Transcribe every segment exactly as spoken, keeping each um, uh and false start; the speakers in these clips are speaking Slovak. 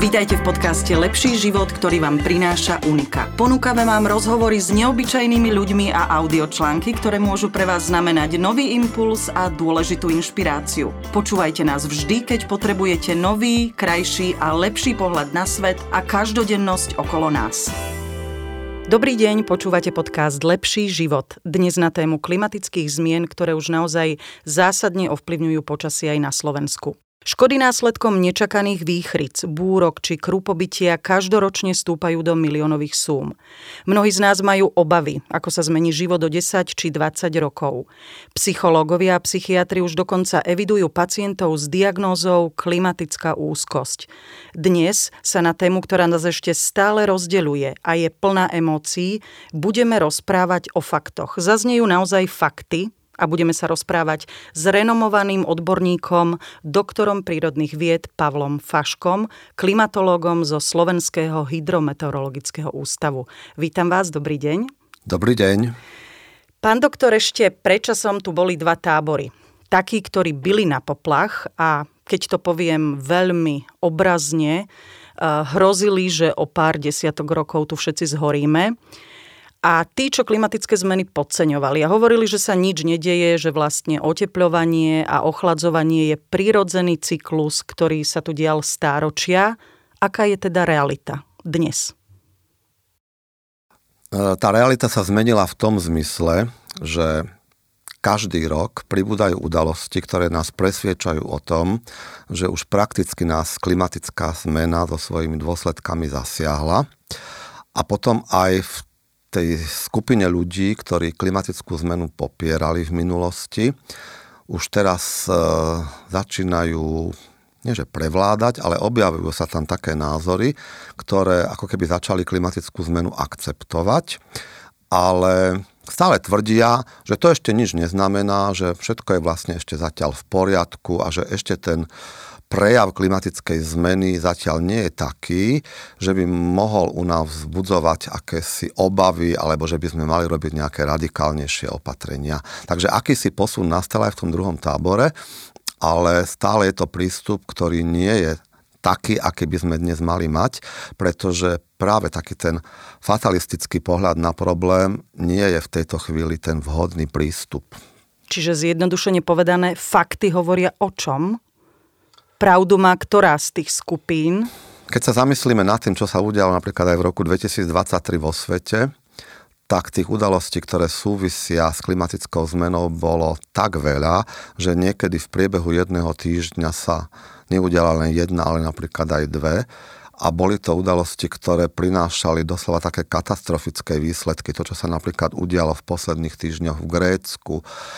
Vítajte v podcaste Lepší život, ktorý vám prináša Unika. Ponúkame vám rozhovory s neobyčajnými ľuďmi a audiočlánky, ktoré môžu pre vás znamenať nový impuls a dôležitú inšpiráciu. Počúvajte nás vždy, keď potrebujete nový, krajší a lepší pohľad na svet a každodennosť okolo nás. Dobrý deň, počúvate podcast Lepší život. Dnes na tému klimatických zmien, ktoré už naozaj zásadne ovplyvňujú počasie aj na Slovensku. Škody následkom nečakaných výchric, búrok či krupobytia každoročne stúpajú do miliónových súm. Mnohí z nás majú obavy, ako sa zmení život o desať či dvadsať rokov. Psychológovia a psychiatri už dokonca evidujú pacientov s diagnózou klimatická úzkosť. Dnes sa na tému, ktorá nás ešte stále rozdeľuje a je plná emócií, budeme rozprávať o faktoch. Zaznejú naozaj fakty, a budeme sa rozprávať s renomovaným odborníkom, doktorom prírodných vied Pavlom Faškom, klimatológom zo Slovenského hydrometeorologického ústavu. Vítam vás, dobrý deň. Dobrý deň. Pán doktor, ešte predčasom tu boli dva tábory. Takí, ktorí bili na poplach a keď to poviem veľmi obrazne, hrozili, že o pár desiatok rokov tu všetci zhoríme. A tí, čo klimatické zmeny podceňovali a hovorili, že sa nič nedeje, že vlastne otepľovanie a ochladzovanie je prirodzený cyklus, ktorý sa tu dial stáročia. Aká je teda realita dnes? Tá realita sa zmenila v tom zmysle, že každý rok pribúdajú udalosti, ktoré nás presviedčajú o tom, že už prakticky nás klimatická zmena so svojimi dôsledkami zasiahla. A potom aj v tej skupine ľudí, ktorí klimatickú zmenu popierali v minulosti, už teraz e, začínajú, nie že prevládať, ale objavujú sa tam také názory, ktoré ako keby začali klimatickú zmenu akceptovať, ale stále tvrdia, že to ešte nič neznamená, že všetko je vlastne ešte zatiaľ v poriadku a že ešte ten prejav klimatickej zmeny zatiaľ nie je taký, že by mohol u nás vzbudzovať akési obavy, alebo že by sme mali robiť nejaké radikálnejšie opatrenia. Takže akýsi posun nastal aj v tom druhom tábore, ale stále je to prístup, ktorý nie je taký, aký by sme dnes mali mať, pretože práve taký ten fatalistický pohľad na problém nie je v tejto chvíli ten vhodný prístup. Čiže zjednodušene povedané, fakty hovoria o čom? Pravdu má ktorá z tých skupín? Keď sa zamyslíme nad tým, čo sa udialo napríklad aj v roku dvetisícdvadsaťtri vo svete, tak tých udalostí, ktoré súvisia s klimatickou zmenou, bolo tak veľa, že niekedy v priebehu jedného týždňa sa neudiala len jedna, ale napríklad aj dve. A boli to udalosti, ktoré prinášali doslova také katastrofické výsledky. To, čo sa napríklad udialo v posledných týždňoch v Grécku,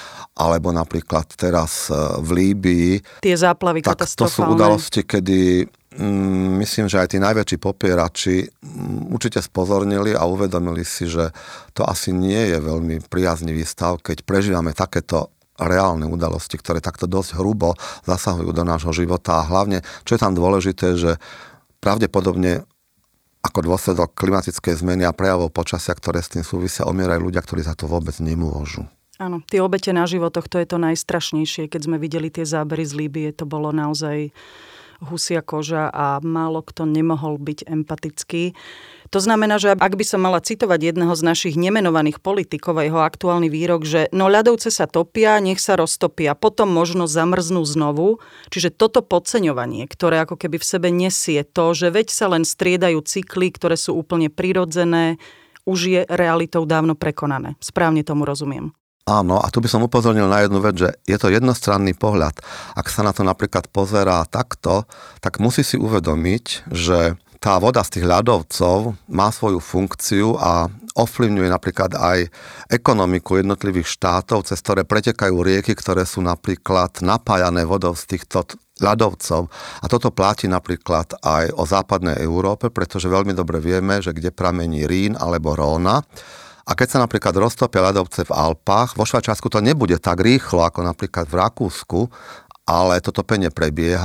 alebo napríklad teraz v Líbii. Tie záplavy tak katastrofálne. To sú udalosti, kedy mm, myslím, že aj tí najväčší popierači mm, určite spozornili a uvedomili si, že to asi nie je veľmi priaznivý stav, keď prežívame takéto reálne udalosti, ktoré takto dosť hrubo zasahujú do nášho života. A hlavne, čo je tam dôležité, že pravdepodobne ako dôsledok klimatickej zmeny a prejavov počasia, ktoré s tým súvisia, umierajú ľudia, ktorí za to vôbec nemôžu. Áno, tie obete na životoch, to je to najstrašnejšie. Keď sme videli tie zábery z Líbie, to bolo naozaj husia koža a málo kto nemohol byť empatický. To znamená, že ak by som mala citovať jedného z našich nemenovaných politikov a jeho aktuálny výrok, že no ľadovce sa topia, nech sa roztopia, potom možno zamrznú znovu. Čiže toto podceňovanie, ktoré ako keby v sebe nesie to, že veď sa len striedajú cykly, ktoré sú úplne prirodzené, už je realitou dávno prekonané. Správne tomu rozumiem. Áno, a tu by som upozornil na jednu vec, že je to jednostranný pohľad. Ak sa na to napríklad pozerá takto, tak musí si uvedomiť, že tá voda z tých ľadovcov má svoju funkciu a ovplyvňuje napríklad aj ekonomiku jednotlivých štátov, cez ktoré pretekajú rieky, ktoré sú napríklad napájané vodou z týchto ľadovcov. A toto platí napríklad aj o západnej Európe, pretože veľmi dobre vieme, že kde pramení Rín alebo Róna. A keď sa napríklad roztopia ľadovce v Alpách, vo Švajčiarsku to nebude tak rýchlo ako napríklad v Rakúsku, ale to topenie prebieha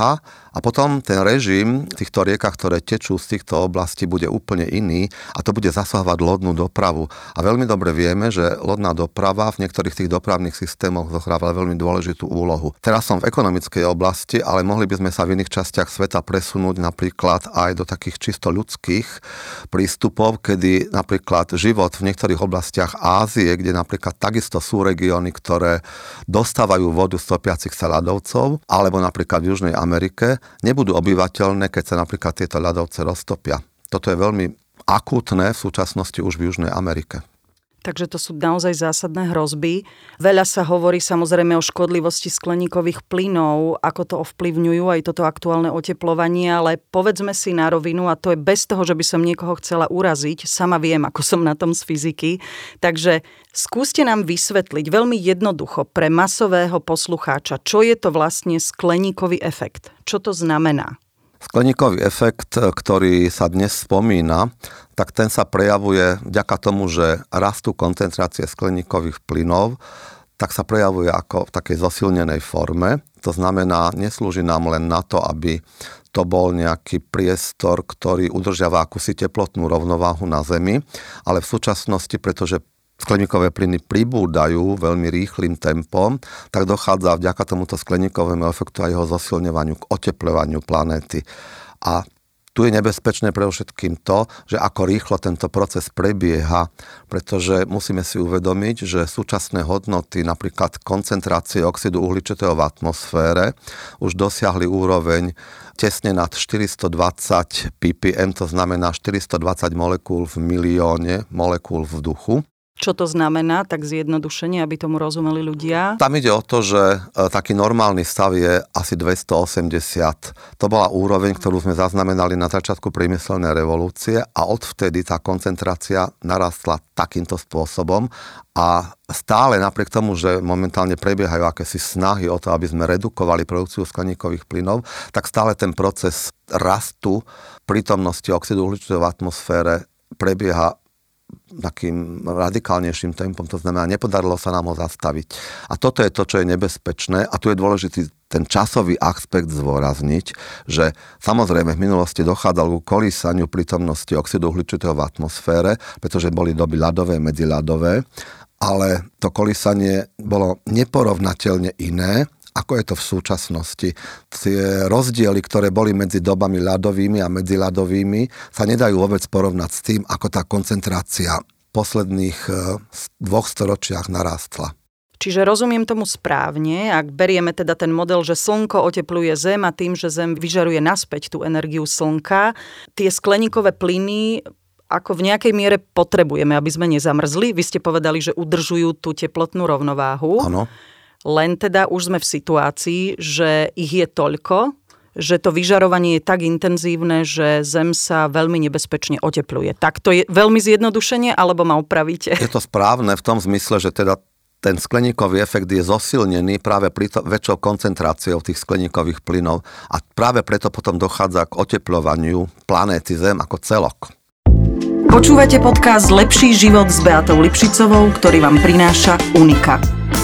A potom ten režim v týchto riekach, ktoré tečú z týchto oblastí, bude úplne iný a to bude zasahovať lodnú dopravu. A veľmi dobre vieme, že lodná doprava v niektorých tých dopravných systémoch zohráva veľmi dôležitú úlohu. Teraz som v ekonomickej oblasti, ale mohli by sme sa v iných častiach sveta presunúť napríklad aj do takých čisto ľudských prístupov, kedy napríklad život v niektorých oblastiach Ázie, kde napríklad takisto sú regióny, ktoré dostávajú vodu z topiacich sa ľadovcov, alebo napríklad v Južnej Amerike, nebudú obyvateľné, keď sa napríklad tieto ľadovce roztopia. Toto je veľmi akútne v súčasnosti už v Južnej Amerike. Takže to sú naozaj zásadné hrozby. Veľa sa hovorí samozrejme o škodlivosti skleníkových plynov, ako to ovplyvňujú aj toto aktuálne oteplovanie, ale povedzme si na rovinu, a to je bez toho, že by som niekoho chcela uraziť, sama viem, ako som na tom z fyziky, takže skúste nám vysvetliť veľmi jednoducho pre masového poslucháča, čo je to vlastne skleníkový efekt, čo to znamená. Skleníkový efekt, ktorý sa dnes spomína, tak ten sa prejavuje vďaka tomu, že rastú koncentrácie skleníkových plynov, tak sa prejavuje ako v takej zosilnenej forme. To znamená, neslúži nám len na to, aby to bol nejaký priestor, ktorý udržiava akúsi teplotnú rovnováhu na Zemi, ale v súčasnosti, pretože skleníkové plyny pribúdajú veľmi rýchlym tempom, tak dochádza vďaka tomuto skleníkovému efektu a jeho zosilňovaniu k otepľovaniu planéty. A tu je nebezpečné predovšetkým to, že ako rýchlo tento proces prebieha, pretože musíme si uvedomiť, že súčasné hodnoty, napríklad koncentrácie oxidu uhličitého v atmosfére, už dosiahli úroveň tesne nad štyristodvadsať ppm, to znamená štyristodvadsať molekúl v milióne molekúl vzduchu. Čo to znamená, tak zjednodušene, aby tomu rozumeli ľudia? Tam ide o to, že taký normálny stav je asi dvestoosemdesiat. To bola úroveň, ktorú sme zaznamenali na začiatku priemyselnej revolúcie a odvtedy tá koncentrácia narastla takýmto spôsobom a stále napriek tomu, že momentálne prebiehajú akési snahy o to, aby sme redukovali produkciu skleníkových plynov, tak stále ten proces rastu prítomnosti oxidu uhličitého v atmosfére prebieha takým radikálnejším tempom, to znamená, nepodarilo sa nám ho zastaviť. A toto je to, čo je nebezpečné a tu je dôležitý ten časový aspekt zdôrazniť, že samozrejme v minulosti dochádzalo k kolísaniu prítomnosti oxidu uhličitého v atmosfére, pretože boli doby ľadové, medziľadové, ale to kolísanie bolo neporovnateľne iné, ako je to v súčasnosti. Tie rozdiely, ktoré boli medzi dobami ľadovými a medziľadovými, sa nedajú vôbec porovnať s tým, ako tá koncentrácia v posledných dvoch storočiach narastla. Čiže rozumiem tomu správne, ak berieme teda ten model, že slnko otepluje Zem a tým, že Zem vyžaruje naspäť tú energiu slnka, tie skleníkové plyny ako v nejakej miere potrebujeme, aby sme nezamrzli. Vy ste povedali, že udržujú tú teplotnú rovnováhu. Áno. Len teda už sme v situácii, že ich je toľko, že to vyžarovanie je tak intenzívne, že Zem sa veľmi nebezpečne otepluje. Tak to je veľmi zjednodušenie, alebo ma opravíte? Je to správne v tom zmysle, že teda ten skleníkový efekt je zosilnený práve pri to, väčšou koncentráciou tých skleníkových plynov a práve preto potom dochádza k otepľovaniu planéty Zem ako celok. Počúvate podcast Lepší život s Beatou Lipšicovou, ktorý vám prináša Unika.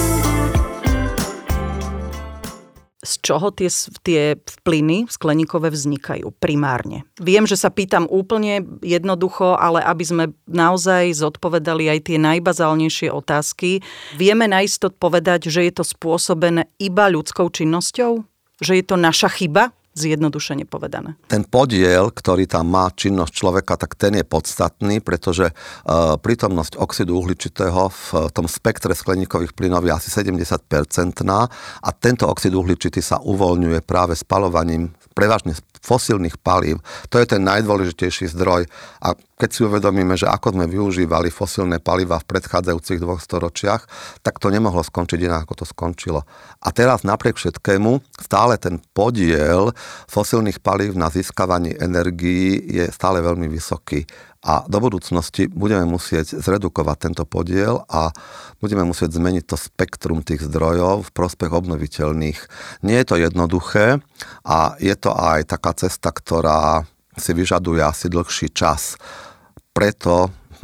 Z čoho tie, tie plyny skleníkové vznikajú primárne? Viem, že sa pýtam úplne jednoducho, ale aby sme naozaj zodpovedali aj tie najbazálnejšie otázky, vieme naisto povedať, že je to spôsobené iba ľudskou činnosťou? Že je to naša chyba? Zjednodušene povedané. Ten podiel, ktorý tam má činnosť človeka, tak ten je podstatný, pretože e, prítomnosť oxidu uhličitého v tom spektre skleníkových plynov je asi sedemdesiat percent a tento oxid uhličitý sa uvoľňuje práve spalovaním prevažne fosílnych palív. To je ten najdôležitejší zdroj a keď si uvedomíme, že ako sme využívali fosílne paliva v predchádzajúcich dvoch storočiach, tak to nemohlo skončiť inak, ako to skončilo. A teraz napriek všetkému stále ten podiel fosílnych palív na získavaní energií je stále veľmi vysoký. A do budúcnosti budeme musieť zredukovať tento podiel a budeme musieť zmeniť to spektrum tých zdrojov v prospech obnoviteľných. Nie je to jednoduché a je to aj taká cesta, ktorá si vyžaduje asi dlhší čas. Preto v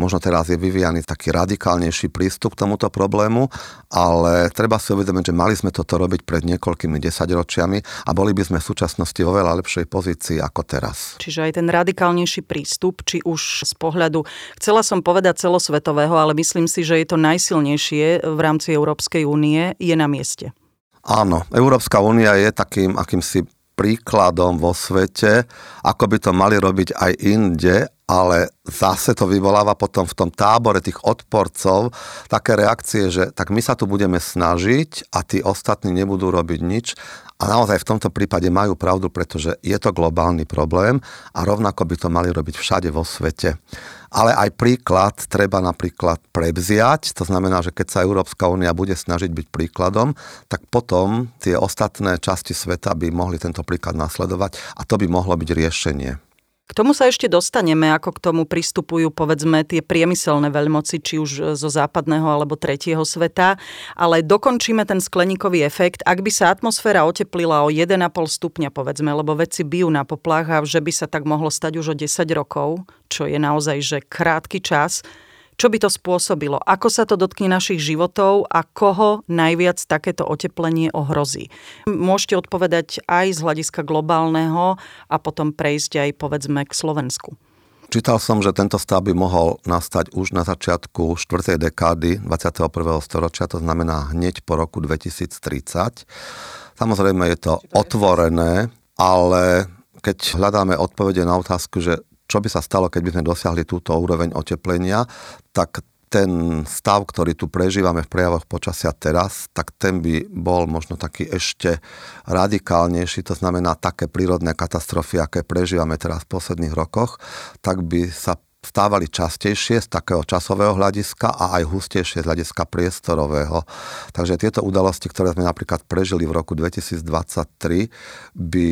možno teraz je vyvíjaný taký radikálnejší prístup k tomuto problému, ale treba si uvedomiť, že mali sme toto robiť pred niekoľkými desaťročiami a boli by sme v súčasnosti vo veľa lepšej pozícii ako teraz. Čiže aj ten radikálnejší prístup, či už z pohľadu, chcela som povedať celosvetového, ale myslím si, že je to najsilnejšie v rámci Európskej únie, je na mieste. Áno, Európska únia je takým akýmsi príkladom vo svete, ako by to mali robiť aj inde, ale zase to vyvoláva potom v tom tábore tých odporcov také reakcie, že tak my sa tu budeme snažiť a tí ostatní nebudú robiť nič. A naozaj v tomto prípade majú pravdu, pretože je to globálny problém a rovnako by to mali robiť všade vo svete. Ale aj príklad treba napríklad prevziať, to znamená, že keď sa Európska únia bude snažiť byť príkladom, tak potom tie ostatné časti sveta by mohli tento príklad nasledovať a to by mohlo byť riešenie. K tomu sa ešte dostaneme, ako k tomu pristupujú, povedzme, tie priemyselné veľmoci, či už zo západného alebo tretieho sveta, ale dokončíme ten skleníkový efekt. Ak by sa atmosféra oteplila o jeden a pol stupňa, povedzme, lebo vedci bijú na poplach a že by sa tak mohlo stať už o desať rokov, čo je naozaj že krátky čas. Čo by to spôsobilo? Ako sa to dotkne našich životov a koho najviac takéto oteplenie ohrozí? Môžete odpovedať aj z hľadiska globálneho a potom prejsť aj, povedzme, k Slovensku. Čítal som, že tento stav by mohol nastať už na začiatku štvrtej dekády dvadsiateho prvého storočia, to znamená hneď po roku dvetisíctridsať. Samozrejme je to otvorené, ale keď hľadáme odpovede na otázku, že čo by sa stalo, keď by sme dosiahli túto úroveň oteplenia, tak ten stav, ktorý tu prežívame v prejavoch počasia teraz, tak ten by bol možno taký ešte radikálnejší, to znamená také prírodné katastrofy, aké prežívame teraz v posledných rokoch, tak by sa stávali častejšie z takého časového hľadiska a aj hustejšie z hľadiska priestorového. Takže tieto udalosti, ktoré sme napríklad prežili v roku dvetisícdvadsaťtri, by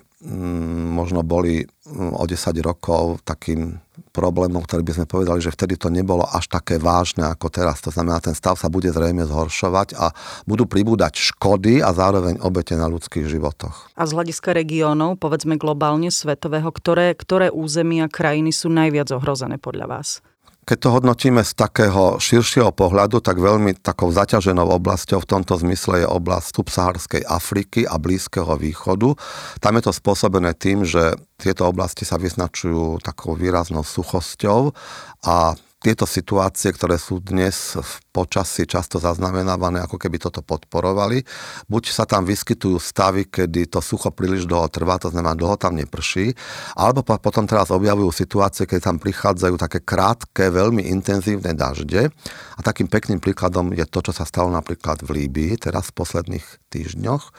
možno boli o desať rokov takým problémom, ktorý by sme povedali, že vtedy to nebolo až také vážne ako teraz. To znamená, ten stav sa bude zrejme zhoršovať a budú pribúdať škody a zároveň obete na ľudských životoch. A z hľadiska regiónov, povedzme globálne svetového, ktoré, ktoré územia krajiny sú najviac ohrozené podľa vás? Keď to hodnotíme z takého širšieho pohľadu, tak veľmi takou zaťaženou oblasťou v tomto zmysle je oblasť subsaharskej Afriky a Blízkeho východu. Tam je to spôsobené tým, že tieto oblasti sa vyznačujú takou výraznou suchosťou a tieto situácie, ktoré sú dnes v počasí často zaznamenávané, ako keby toto podporovali. Buď sa tam vyskytujú stavy, kedy to sucho príliš dlho trvá, to znamená, dlho tam neprší, alebo potom teraz objavujú situácie, keď tam prichádzajú také krátke, veľmi intenzívne dažde. A takým pekným príkladom je to, čo sa stalo napríklad v Líbii, teraz v posledných týždňoch.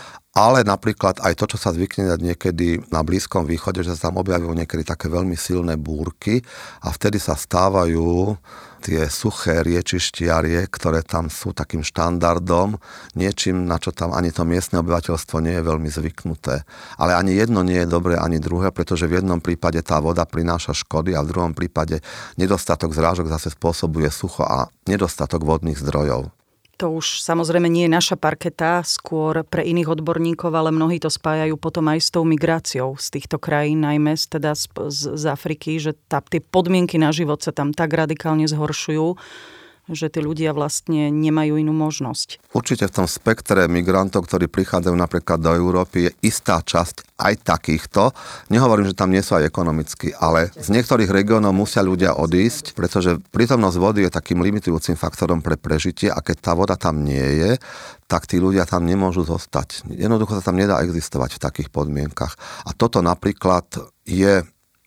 Ale napríklad aj to, čo sa zvykne dať niekedy na Blízkom východe, že sa tam objavujú niekedy také veľmi silné búrky a vtedy sa stávajú tie suché riečištiarie, ktoré tam sú takým štandardom, niečím, na čo tam ani to miestne obyvateľstvo nie je veľmi zvyknuté. Ale ani jedno nie je dobré, ani druhé, pretože v jednom prípade tá voda prináša škody a v druhom prípade nedostatok zrážok zase spôsobuje sucho a nedostatok vodných zdrojov. To už samozrejme nie je naša parketa, skôr pre iných odborníkov, ale mnohí to spájajú potom aj s tou migráciou z týchto krajín, najmä teda z, z, z Afriky, že tá, tie podmienky na život sa tam tak radikálne zhoršujú, že tí ľudia vlastne nemajú inú možnosť. Určite v tom spektre migrantov, ktorí prichádzajú napríklad do Európy, je istá časť aj takýchto. Nehovorím, že tam nie sú aj ekonomicky, ale z niektorých regiónov musia ľudia odísť, pretože prítomnosť vody je takým limitujúcim faktorom pre prežitie a keď tá voda tam nie je, tak tí ľudia tam nemôžu zostať. Jednoducho sa tam nedá existovať v takých podmienkach. A toto napríklad je...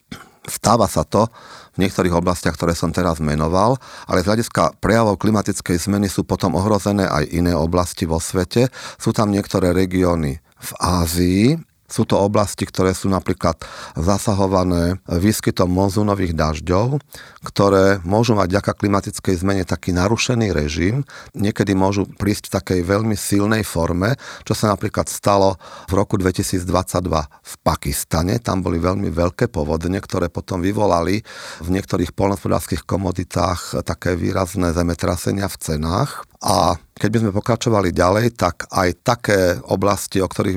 Stáva sa to v niektorých oblastiach, ktoré som teraz menoval, ale z hľadiska prejavov klimatickej zmeny sú potom ohrozené aj iné oblasti vo svete. Sú tam niektoré regióny v Ázii, sú to oblasti, ktoré sú napríklad zasahované výskytom monzúnových dažďov, ktoré môžu mať vďaka klimatickej zmene taký narušený režim. Niekedy môžu prísť v takej veľmi silnej forme, čo sa napríklad stalo v roku dvetisícdvadsaťdva v Pakistane. Tam boli veľmi veľké povodne, ktoré potom vyvolali v niektorých poľnohospodárskych komoditách také výrazné zemetrasenia v cenách. A keď by sme pokračovali ďalej, tak aj také oblasti, o ktorých by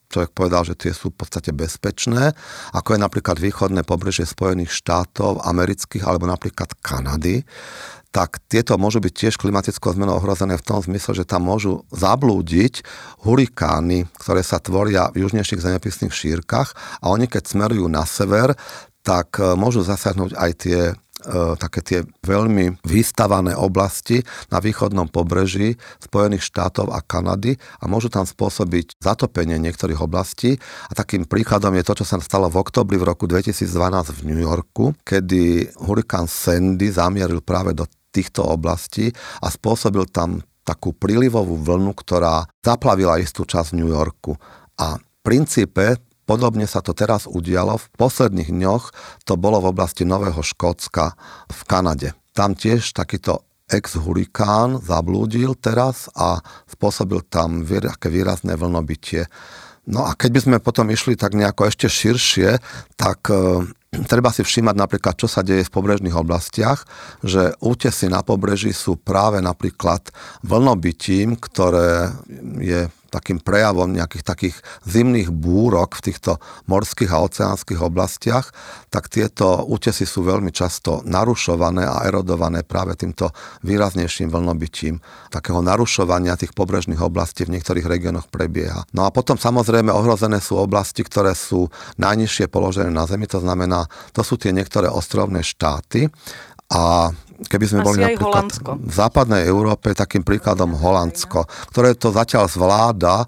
človek povedal, že tie sú v podstate bezpečné, ako je napríklad východné pobrežie Spojených štátov amerických alebo napríklad Kanady, tak tieto môžu byť tiež klimatickou zmenou ohrozené v tom zmysle, že tam môžu zablúdiť hurikány, ktoré sa tvoria v južnejších zemepisných šírkach a oni keď smerujú na sever, tak môžu zasiahnuť aj tie také tie veľmi vystavané oblasti na východnom pobreží Spojených štátov a Kanady a môžu tam spôsobiť zatopenie niektorých oblastí. A takým príkladom je to, čo sa stalo v októbri v roku dvetisícdvanásť v New Yorku, kedy hurikán Sandy zamieril práve do týchto oblastí a spôsobil tam takú prílivovú vlnu, ktorá zaplavila istú časť New Yorku. A v princípe podobne sa to teraz udialo. V posledných dňoch to bolo v oblasti Nového Škótska v Kanade. Tam tiež takýto ex-hurikán zablúdil teraz a spôsobil tam také výrazné vlnobytie. No a keď by sme potom išli tak nejako ešte širšie, tak e, treba si všímať napríklad, čo sa deje v pobrežných oblastiach, že útesy na pobreží sú práve napríklad vlnobytím, ktoré je takým prejavom nejakých takých zimných búrok v týchto morských a oceánskych oblastiach, tak tieto útesy sú veľmi často narušované a erodované práve týmto výraznejším vlnobytím. Takého narušovania tých pobrežných oblastí v niektorých regiónoch prebieha. No a potom samozrejme ohrozené sú oblasti, ktoré sú najnižšie položené na Zemi, to znamená, to sú tie niektoré ostrovné štáty. A keby sme Asi boli napríklad v západnej Európe, takým príkladom Holandsko, ktoré to zatiaľ zvláda,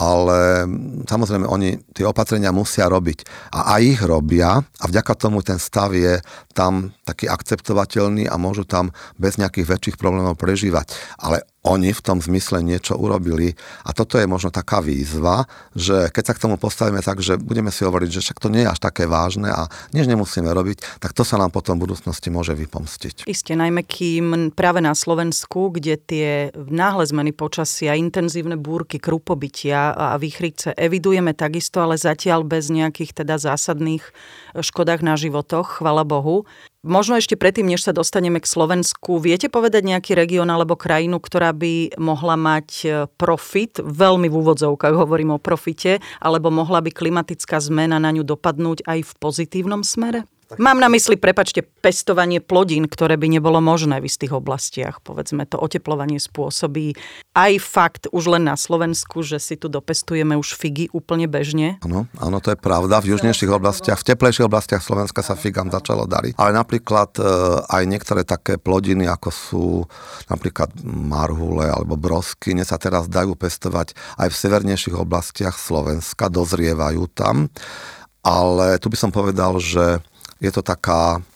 ale samozrejme oni tie opatrenia musia robiť. A aj ich robia a vďaka tomu ten stav je tam taký akceptovateľný a môžu tam bez nejakých väčších problémov prežívať. Ale oni v tom zmysle niečo urobili a toto je možno taká výzva, že keď sa k tomu postavíme tak, že budeme si hovoriť, že však to nie je až také vážne a nič nemusíme robiť, tak to sa nám potom v budúcnosti môže vypomstiť. Isté, najmä kým práve na Slovensku, kde tie náhle zmeny počasia, intenzívne búrky, krupobytia a výchrice evidujeme takisto, ale zatiaľ bez nejakých teda zásadných škodách na životoch, chvala Bohu. Možno ešte predtým, než sa dostaneme k Slovensku, viete povedať nejaký región alebo krajinu, ktorá by mohla mať profit, veľmi v úvodzovkách hovorím o profite, alebo mohla by klimatická zmena na ňu dopadnúť aj v pozitívnom smere? Mám na mysli, prepáčte, pestovanie plodín, ktoré by nebolo možné v istých oblastiach. Povedzme, to oteplovanie spôsobí aj fakt už len na Slovensku, že si tu dopestujeme už figy úplne bežne. Áno, áno, to je pravda. V južnejších oblastiach, v teplejších oblastiach Slovenska sa figám začalo dariť. Ale napríklad aj niektoré také plodiny, ako sú napríklad marhule alebo brosky, sa teraz dajú pestovať aj v severnejších oblastiach Slovenska, dozrievajú tam. Ale tu by som povedal, že je to taká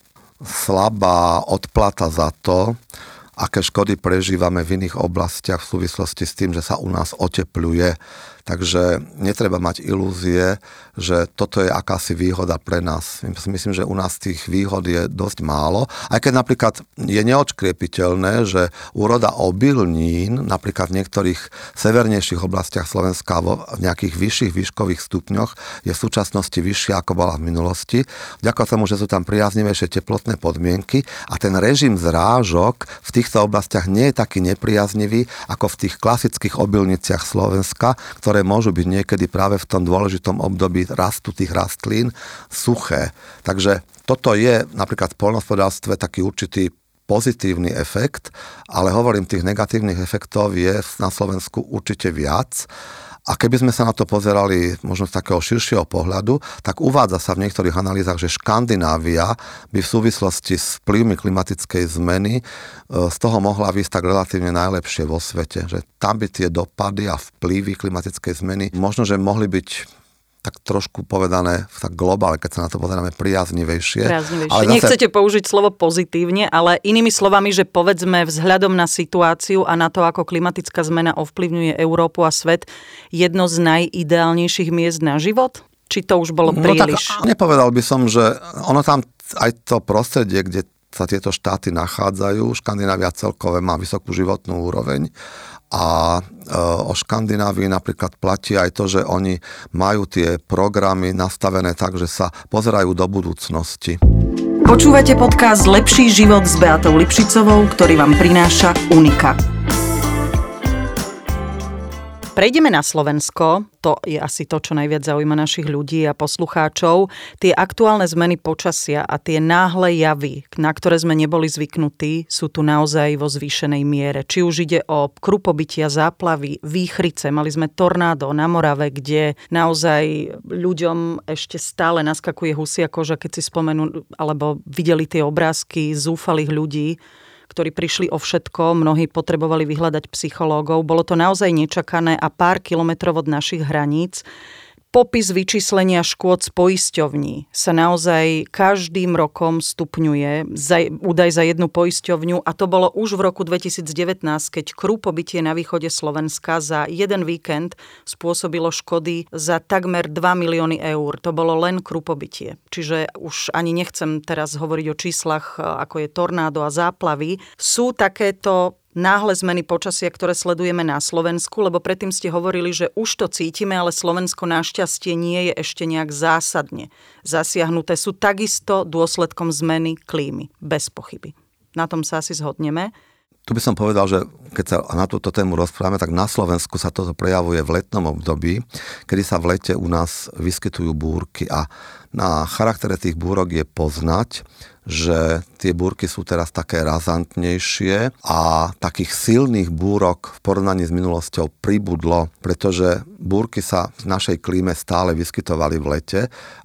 slabá odplata za to, aké škody prežívame v iných oblastiach v súvislosti s tým, že sa u nás otepľuje. Takže netreba mať ilúzie, že toto je akási výhoda pre nás. Myslím, že u nás tých výhod je dosť málo. Aj keď napríklad je neodškriepiteľné, že úroda obilnín, napríklad v niektorých severnejších oblastiach Slovenska vo nejakých vyšších výškových stupňoch je v súčasnosti vyššia, ako bola v minulosti. Vďaka tomu, že sú tam priaznivejšie teplotné podmienky a ten režim zrážok v týchto oblastiach nie je taký nepriaznivý, ako v tých klasických obilniciach Slovenska, ktoré ktoré môžu byť niekedy práve v tom dôležitom období rastu tých rastlín suché. Takže toto je napríklad v poľnohospodárstve taký určitý pozitívny efekt, ale hovorím, tých negatívnych efektov je na Slovensku určite viac. A keby sme sa na to pozerali možno z takého širšieho pohľadu, tak uvádza sa v niektorých analýzach, že Škandinávia by v súvislosti s vplyvmi klimatickej zmeny z toho mohla výsť tak relatívne najlepšie vo svete. Že tam by tie dopady a vplyvy klimatickej zmeny možno, že mohli byť tak trošku povedané tak globálne, keď sa na to pozeráme priaznivejšie. Priaznivejšie. Ale zase... Nechcete použiť slovo pozitívne, ale inými slovami, že povedzme vzhľadom na situáciu a na to, ako klimatická zmena ovplyvňuje Európu a svet, jedno z najideálnejších miest na život? Či to už bolo príliš? No tak nepovedal by som, že ono tam aj to prostredie, kde sa tieto štáty nachádzajú, Škandinávia celkové má vysokú životnú úroveň. A o Škandinávii napríklad platí aj to, že oni majú tie programy nastavené tak, že sa pozerajú do budúcnosti. Počúvate podcast Lepší život s Beatou Lipšicovou, ktorý vám prináša Unika. Prejdeme na Slovensko. To je asi to, čo najviac zaujíma našich ľudí a poslucháčov. Tie aktuálne zmeny počasia a tie náhle javy, na ktoré sme neboli zvyknutí, sú tu naozaj vo zvýšenej miere. Či už ide o krupobytia, záplavy, výchrice. Mali sme tornádo na Morave, kde naozaj ľuďom ešte stále naskakuje husia koža, keď si spomenú, alebo videli tie obrázky zúfalých ľudí, ktorí prišli o všetko, mnohí potrebovali vyhľadať psychológov. Bolo to naozaj nečakané a pár kilometrov od našich hraníc. Popis vyčíslenia škôd z poisťovní sa naozaj každým rokom stupňuje. Za, údaj za jednu poisťovňu a to bolo už v roku dvetisícdevätnásť, keď krupobytie na východe Slovenska za jeden víkend spôsobilo škody za takmer dva milióny eur. To bolo len krupobytie. Čiže už ani nechcem teraz hovoriť o číslach, ako je tornádo a záplavy. Sú takéto náhle zmeny počasia, ktoré sledujeme na Slovensku, lebo predtým ste hovorili, že už to cítime, ale Slovensko našťastie nie je ešte nejak zásadne zasiahnuté. Sú takisto dôsledkom zmeny klímy, bez pochyby. Na tom sa asi zhodneme. Tu by som povedal, že keď sa na túto tému rozprávame, tak na Slovensku sa toto prejavuje v letnom období, kedy sa v lete u nás vyskytujú búrky a na charaktere tých búrok je poznať, že tie búrky sú teraz také razantnejšie a takých silných búrok v porovnaní s minulosťou pribudlo, pretože búrky sa v našej klíme stále vyskytovali v lete,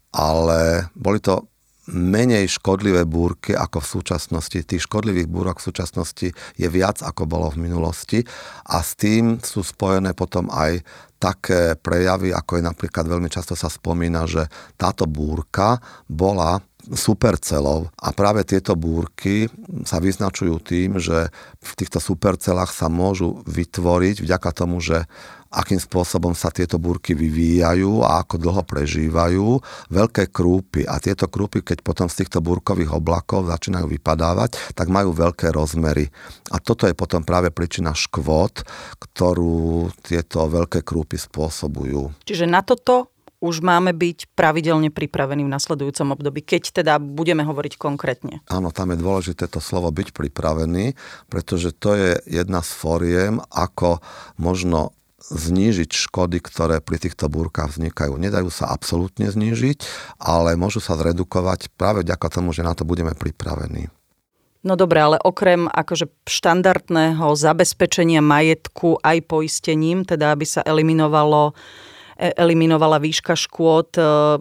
ale boli to menej škodlivé búrky ako v súčasnosti. Tých škodlivých búrok v súčasnosti je viac ako bolo v minulosti a s tým sú spojené potom aj také prejavy, ako je napríklad veľmi často sa spomína, že táto búrka bola supercelov a práve tieto búrky sa vyznačujú tým, že v týchto supercelách sa môžu vytvoriť vďaka tomu, že akým spôsobom sa tieto búrky vyvíjajú a ako dlho prežívajú, veľké krúpy. A tieto krúpy, keď potom z týchto búrkových oblakov začínajú vypadávať, tak majú veľké rozmery. A toto je potom práve príčina škôd, ktorú tieto veľké krúpy spôsobujú. Čiže na toto už máme byť pravidelne pripravení v nasledujúcom období, keď teda budeme hovoriť konkrétne. Áno, tam je dôležité to slovo byť pripravený, pretože to je jedna z fóriem, ako možno znížiť škody, ktoré pri týchto búrkach vznikajú. Nedajú sa absolútne znížiť, ale môžu sa zredukovať práve vďaka tomu, že na to budeme pripravení. No dobré, ale okrem akože štandardného zabezpečenia majetku aj poistením, teda aby sa eliminovalo eliminovala výška škôd.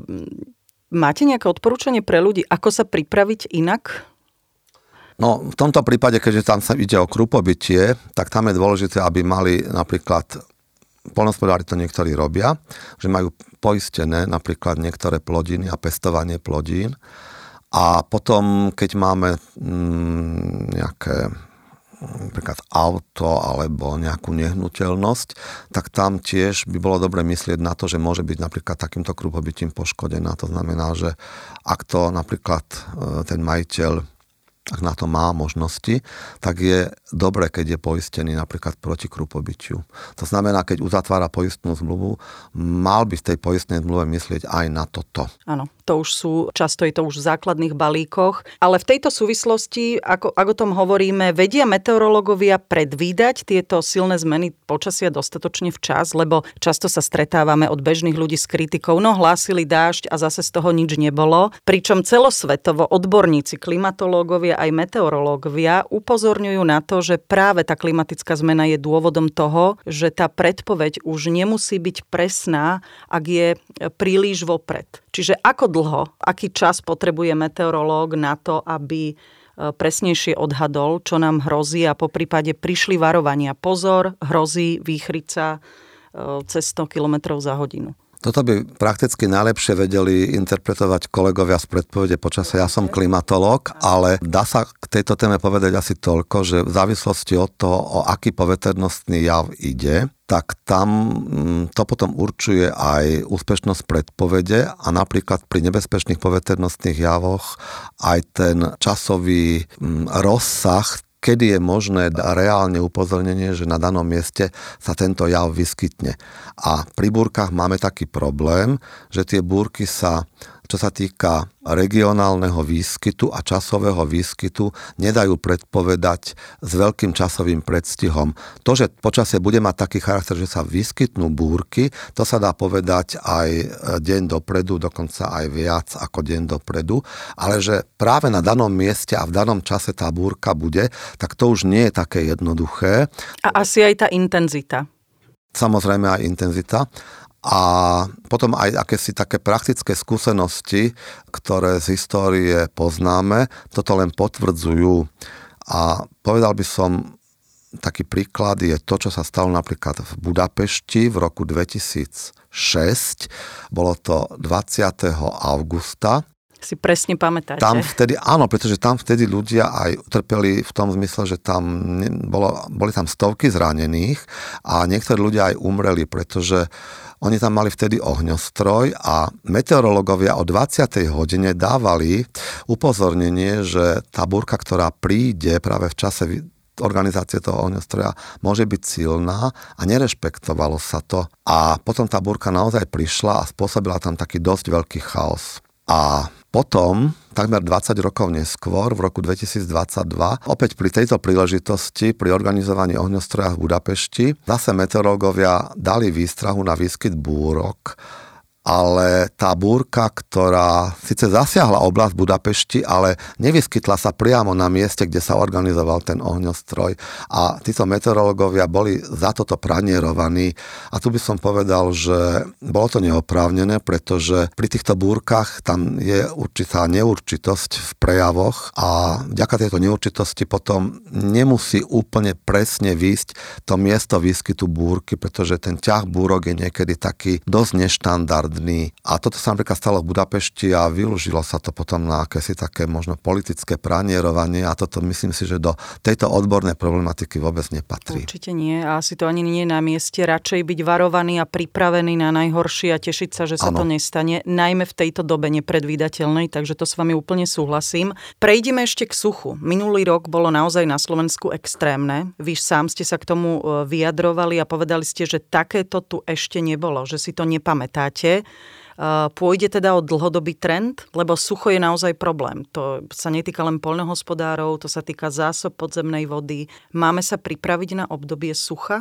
Máte nejaké odporúčanie pre ľudí, ako sa pripraviť inak? No, v tomto prípade, keďže tam sa ide o krupobytie, tak tam je dôležité, aby mali napríklad, poľnohospodári to niektorí robia, že majú poistené napríklad niektoré plodiny a pestovanie plodín. A potom, keď máme mm, nejaké napríklad auto alebo nejakú nehnuteľnosť, tak tam tiež by bolo dobre myslieť na to, že môže byť napríklad takýmto krupobytím poškodená. To znamená, že ak to napríklad ten majiteľ, ak na to má možnosti, tak je dobre, keď je poistený napríklad proti krupobytiu. To znamená, keď uzatvára poistnú zmluvu, mal by v tej poistnej zmluve myslieť aj na toto. Áno, to už sú, často je to už v základných balíkoch, ale v tejto súvislosti, ako, ako o tom hovoríme, vedia meteorológovia predvídať tieto silné zmeny počasia dostatočne včas, lebo často sa stretávame od bežných ľudí s kritikou, no hlásili dážď a zase z toho nič nebolo. Pričom celosvetovo odborníci, klimatológovia aj meteorológovia upozorňujú na to, že práve tá klimatická zmena je dôvodom toho, že tá predpoveď už nemusí byť presná, ak je príliš vopred. Čiže ako dlho, aký čas potrebuje meteorológ na to, aby presnejšie odhadol, čo nám hrozí a poprípade prišli varovania. Pozor, hrozí výchrica cez sto kilometrov za hodinu. Toto by prakticky najlepšie vedeli interpretovať kolegovia z predpovede počasia. Ja som klimatológ, ale dá sa k tejto téme povedať asi toľko, že v závislosti od toho, o aký poveternostný jav ide, tak tam to potom určuje aj úspešnosť predpovede a napríklad pri nebezpečných poveternostných javoch aj ten časový rozsah, kedy je možné reálne upozornenie, že na danom mieste sa tento jav vyskytne. A pri búrkach máme taký problém, že tie búrky sa čo sa týka regionálneho výskytu a časového výskytu, nedajú predpovedať s veľkým časovým predstihom. To, že počasie bude mať taký charakter, že sa vyskytnú búrky, to sa dá povedať aj deň dopredu, dokonca aj viac ako deň dopredu, ale že práve na danom mieste a v danom čase tá búrka bude, tak to už nie je také jednoduché. A asi aj tá intenzita. Samozrejme aj intenzita. A potom aj akési také praktické skúsenosti, ktoré z histórie poznáme, toto len potvrdzujú. A povedal by som, taký príklad je to, čo sa stalo napríklad v Budapešti v roku dvetisícšesť. Bolo to dvadsiateho augusta. Si presne pamätáte. Tam vtedy, áno, pretože tam vtedy ľudia aj utrpeli v tom zmysle, že tam bolo, boli tam stovky zranených a niektorí ľudia aj umreli, pretože oni tam mali vtedy ohňostroj a meteorológovia o dvadsiatej hodine dávali upozornenie, že tá búrka, ktorá príde práve v čase organizácie toho ohňostroja, môže byť silná a nerešpektovalo sa to. A potom tá búrka naozaj prišla a spôsobila tam taký dosť veľký chaos. A potom, takmer dvadsať rokov neskôr, v roku dvetisícdvadsaťdva, opäť pri tejto príležitosti, pri organizovaní ohňostroja v Budapešti, zase meteorológovia dali výstrahu na výskyt búrok, ale tá búrka, ktorá síce zasiahla oblasť Budapešti, ale nevyskytla sa priamo na mieste, kde sa organizoval ten ohňostroj. A títo meteorológovia boli za toto pranierovaní. A tu by som povedal, že bolo to neoprávnené, pretože pri týchto búrkach tam je určitá neurčitosť v prejavoch a vďaka tejto neurčitosti potom nemusí úplne presne výsť to miesto výskytu búrky, pretože ten ťah búrok je niekedy taký dosť neštandardný. A toto sa napríklad stalo v Budapešti a využilo sa to potom na akési také možno politické pranierovanie a toto myslím si, že do tejto odbornej problematiky vôbec nepatrí. Určite nie a asi to ani nie je na mieste. Radšej byť varovaný a pripravený na najhoršie a tešiť sa, že sa ano. To nestane, najmä v tejto dobe nepredvídateľnej, takže to s vami úplne súhlasím. Prejdime ešte k suchu. Minulý rok bolo naozaj na Slovensku extrémne. Vy sám ste sa k tomu vyjadrovali a povedali ste, že takéto tu ešte nebolo, že si to nepamätáte. Pôjde teda o dlhodobý trend, lebo sucho je naozaj problém. To sa netýka len poľnohospodárov, to sa týka zásob podzemnej vody. Máme sa pripraviť na obdobie sucha?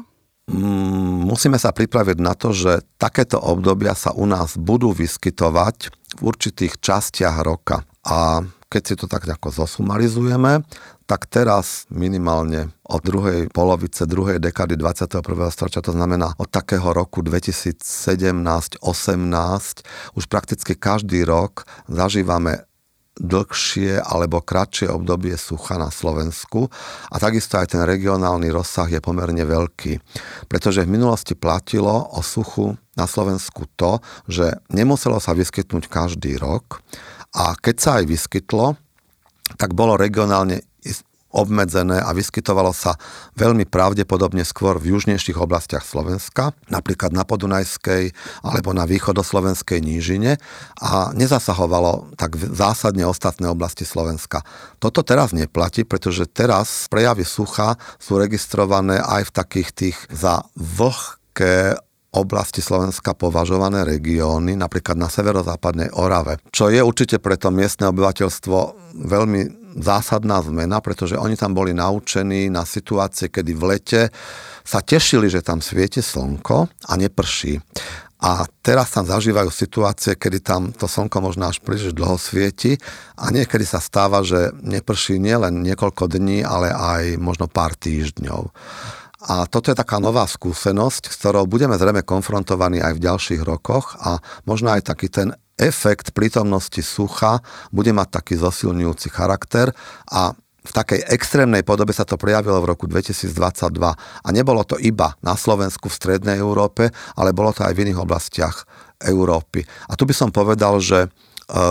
Musíme sa pripraviť na to, že takéto obdobia sa u nás budú vyskytovať v určitých častiach roka. A keď si to tak nejako zosumarizujeme, tak teraz minimálne od druhej polovice, druhej dekády dvadsiateho prvého storočia, to znamená od takého roku dvetisícsedemnásť osemnásť, už prakticky každý rok zažívame dlhšie alebo kratšie obdobie sucha na Slovensku a takisto aj ten regionálny rozsah je pomerne veľký. Pretože v minulosti platilo o suchu na Slovensku to, že nemuselo sa vyskytnúť každý rok a keď sa aj vyskytlo, tak bolo regionálne obmedzené a vyskytovalo sa veľmi pravdepodobne skôr v južnejších oblastiach Slovenska, napríklad na Podunajskej alebo na východoslovenskej nížine a nezasahovalo tak zásadne ostatné oblasti Slovenska. Toto teraz neplatí, pretože teraz prejavy sucha sú registrované aj v takých tých za vlhké oblasti Slovenska považované regióny, napríklad na severozápadnej Orave, čo je určite pre to miestne obyvateľstvo veľmi zásadná zmena, pretože oni tam boli naučení na situácie, kedy v lete sa tešili, že tam svieti slnko a neprší. A teraz tam zažívajú situácie, kedy tam to slnko možno až príliš dlho svieti a niekedy sa stáva, že neprší nielen niekoľko dní, ale aj možno pár týždňov. A toto je taká nová skúsenosť, s ktorou budeme zrejme konfrontovaní aj v ďalších rokoch a možno aj taký ten efekt prítomnosti sucha bude mať taký zosilňujúci charakter a v takej extrémnej podobe sa to prejavilo v roku dvetisícdvadsaťdva. A nebolo to iba na Slovensku, v strednej Európe, ale bolo to aj v iných oblastiach Európy. A tu by som povedal, že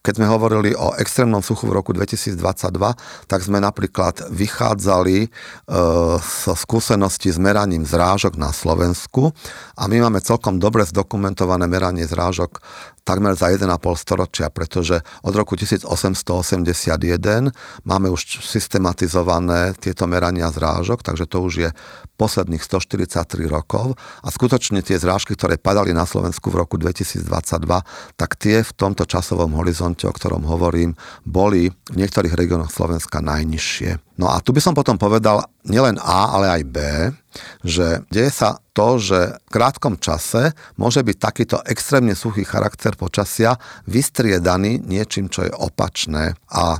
keď sme hovorili o extrémnom suchu v roku dvetisícdvadsaťdva, tak sme napríklad vychádzali e, so skúsenosti s meraním zrážok na Slovensku a my máme celkom dobre zdokumentované meranie zrážok takmer za jeden a pol storočia, pretože od roku tisícosemstoosemdesiatjeden máme už systematizované tieto merania zrážok, takže to už je posledných stoštyridsaťtri rokov a skutočne tie zrážky, ktoré padali na Slovensku v roku dvetisícdvadsaťdva, tak tie v tomto časovom horizonte, o ktorom hovorím, boli v niektorých regiónoch Slovenska najnižšie. No a tu by som potom povedal nielen A, ale aj B, že deje sa to, že v krátkom čase môže byť takýto extrémne suchý charakter počasia vystriedaný niečím, čo je opačné. A e,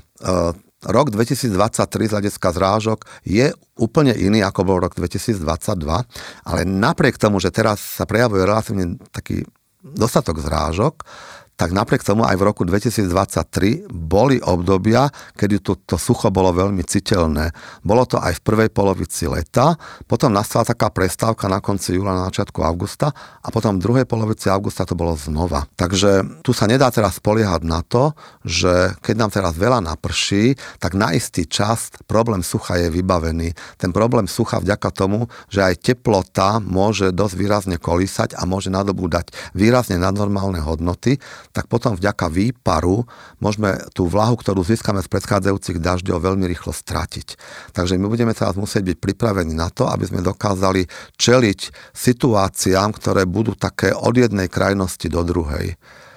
rok dvetisícdvadsaťtri z hľadiska zrážok je úplne iný, ako bol rok dvetisícdvadsaťdva, ale napriek tomu, že teraz sa prejavuje relatívne taký dostatok zrážok, tak napriek tomu aj v roku dvetisícdvadsaťtri boli obdobia, kedy to, to sucho bolo veľmi citeľné. Bolo to aj v prvej polovici leta, potom nastala taká prestávka na konci júla, na začiatku augusta a potom v druhej polovici augusta to bolo znova. Takže tu sa nedá teraz spoliehať na to, že keď nám teraz veľa naprší, tak na istý čas problém sucha je vybavený. Ten problém sucha vďaka tomu, že aj teplota môže dosť výrazne kolísať a môže nadobúdať výrazne nadnormálne hodnoty, tak potom vďaka výparu môžeme tú vlahu, ktorú získame z predchádzajúcich dažďov, veľmi rýchlo stratiť. Takže my budeme teraz musieť byť pripravení na to, aby sme dokázali čeliť situáciám, ktoré budú také od jednej krajnosti do druhej.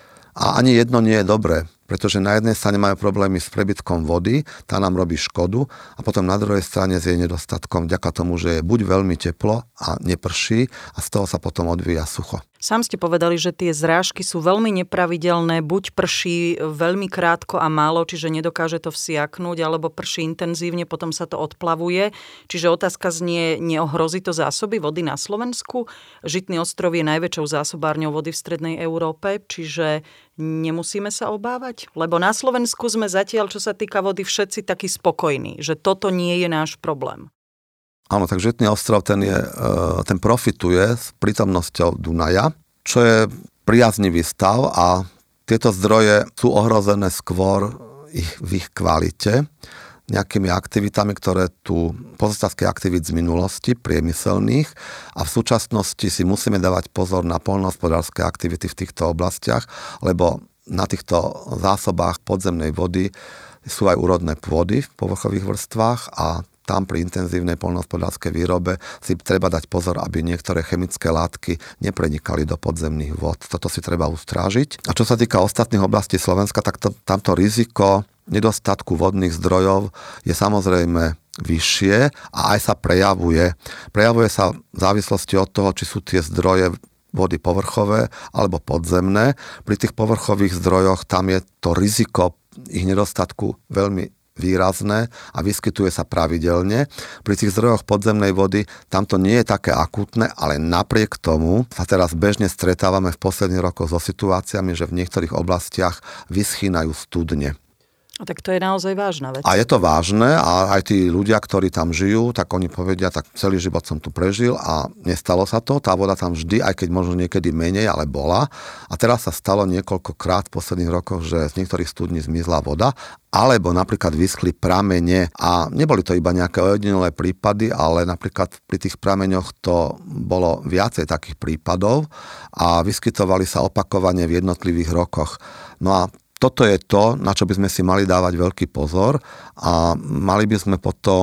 A ani jedno nie je dobré, pretože na jednej strane majú problémy s prebytkom vody, tá nám robí škodu a potom na druhej strane s jej nedostatkom vďaka tomu, že je buď veľmi teplo a neprší a z toho sa potom odvíja sucho. Sám ste povedali, že tie zrážky sú veľmi nepravidelné, buď prší veľmi krátko a málo, čiže nedokáže to vsiaknúť, alebo prší intenzívne, potom sa to odplavuje. Čiže otázka znie, neohrozí to zásoby vody na Slovensku? Žitný ostrov je najväčšou zásobárňou vody v strednej Európe, čiže nemusíme sa obávať? Lebo na Slovensku sme zatiaľ, čo sa týka vody, všetci takí spokojní, že toto nie je náš problém. Áno, tak Žitný ostrov ten, je, ten profituje s prítomnosťou Dunaja, čo je priaznivý stav a tieto zdroje sú ohrozené skôr ich, v ich kvalite nejakými aktivitami, ktoré tu pozostatky aktivít z minulosti, priemyselných a v súčasnosti si musíme dávať pozor na poľnohospodárske aktivity v týchto oblastiach, lebo na týchto zásobách podzemnej vody sú aj úrodné pôdy v povrchových vrstvách a tam pri intenzívnej poľnohospodárskej výrobe si treba dať pozor, aby niektoré chemické látky neprenikali do podzemných vôd. Toto si treba ustrážiť. A čo sa týka ostatných oblastí Slovenska, tak to, tamto riziko nedostatku vodných zdrojov je samozrejme vyššie a aj sa prejavuje. Prejavuje sa v závislosti od toho, či sú tie zdroje vody povrchové alebo podzemné. Pri tých povrchových zdrojoch tam je to riziko ich nedostatku veľmi výrazné a vyskytuje sa pravidelne. Pri tých zdrojoch podzemnej vody tam to nie je také akútne, ale napriek tomu sa teraz bežne stretávame v posledných rokoch so situáciami, že v niektorých oblastiach vyschýnajú studne. A tak to je naozaj vážna vec. A je to vážne a aj tí ľudia, ktorí tam žijú, tak oni povedia, tak celý život som tu prežil a nestalo sa to. Tá voda tam vždy, aj keď možno niekedy menej, ale bola. A teraz sa stalo niekoľkokrát v posledných rokoch, že z niektorých studní zmizla voda, alebo napríklad vyschli pramene a neboli to iba nejaké ojedinelé prípady, ale napríklad pri tých prameňoch to bolo viacej takých prípadov a vyskytovali sa opakovane v jednotlivých rokoch. No a toto je to, na čo by sme si mali dávať veľký pozor a mali by sme potom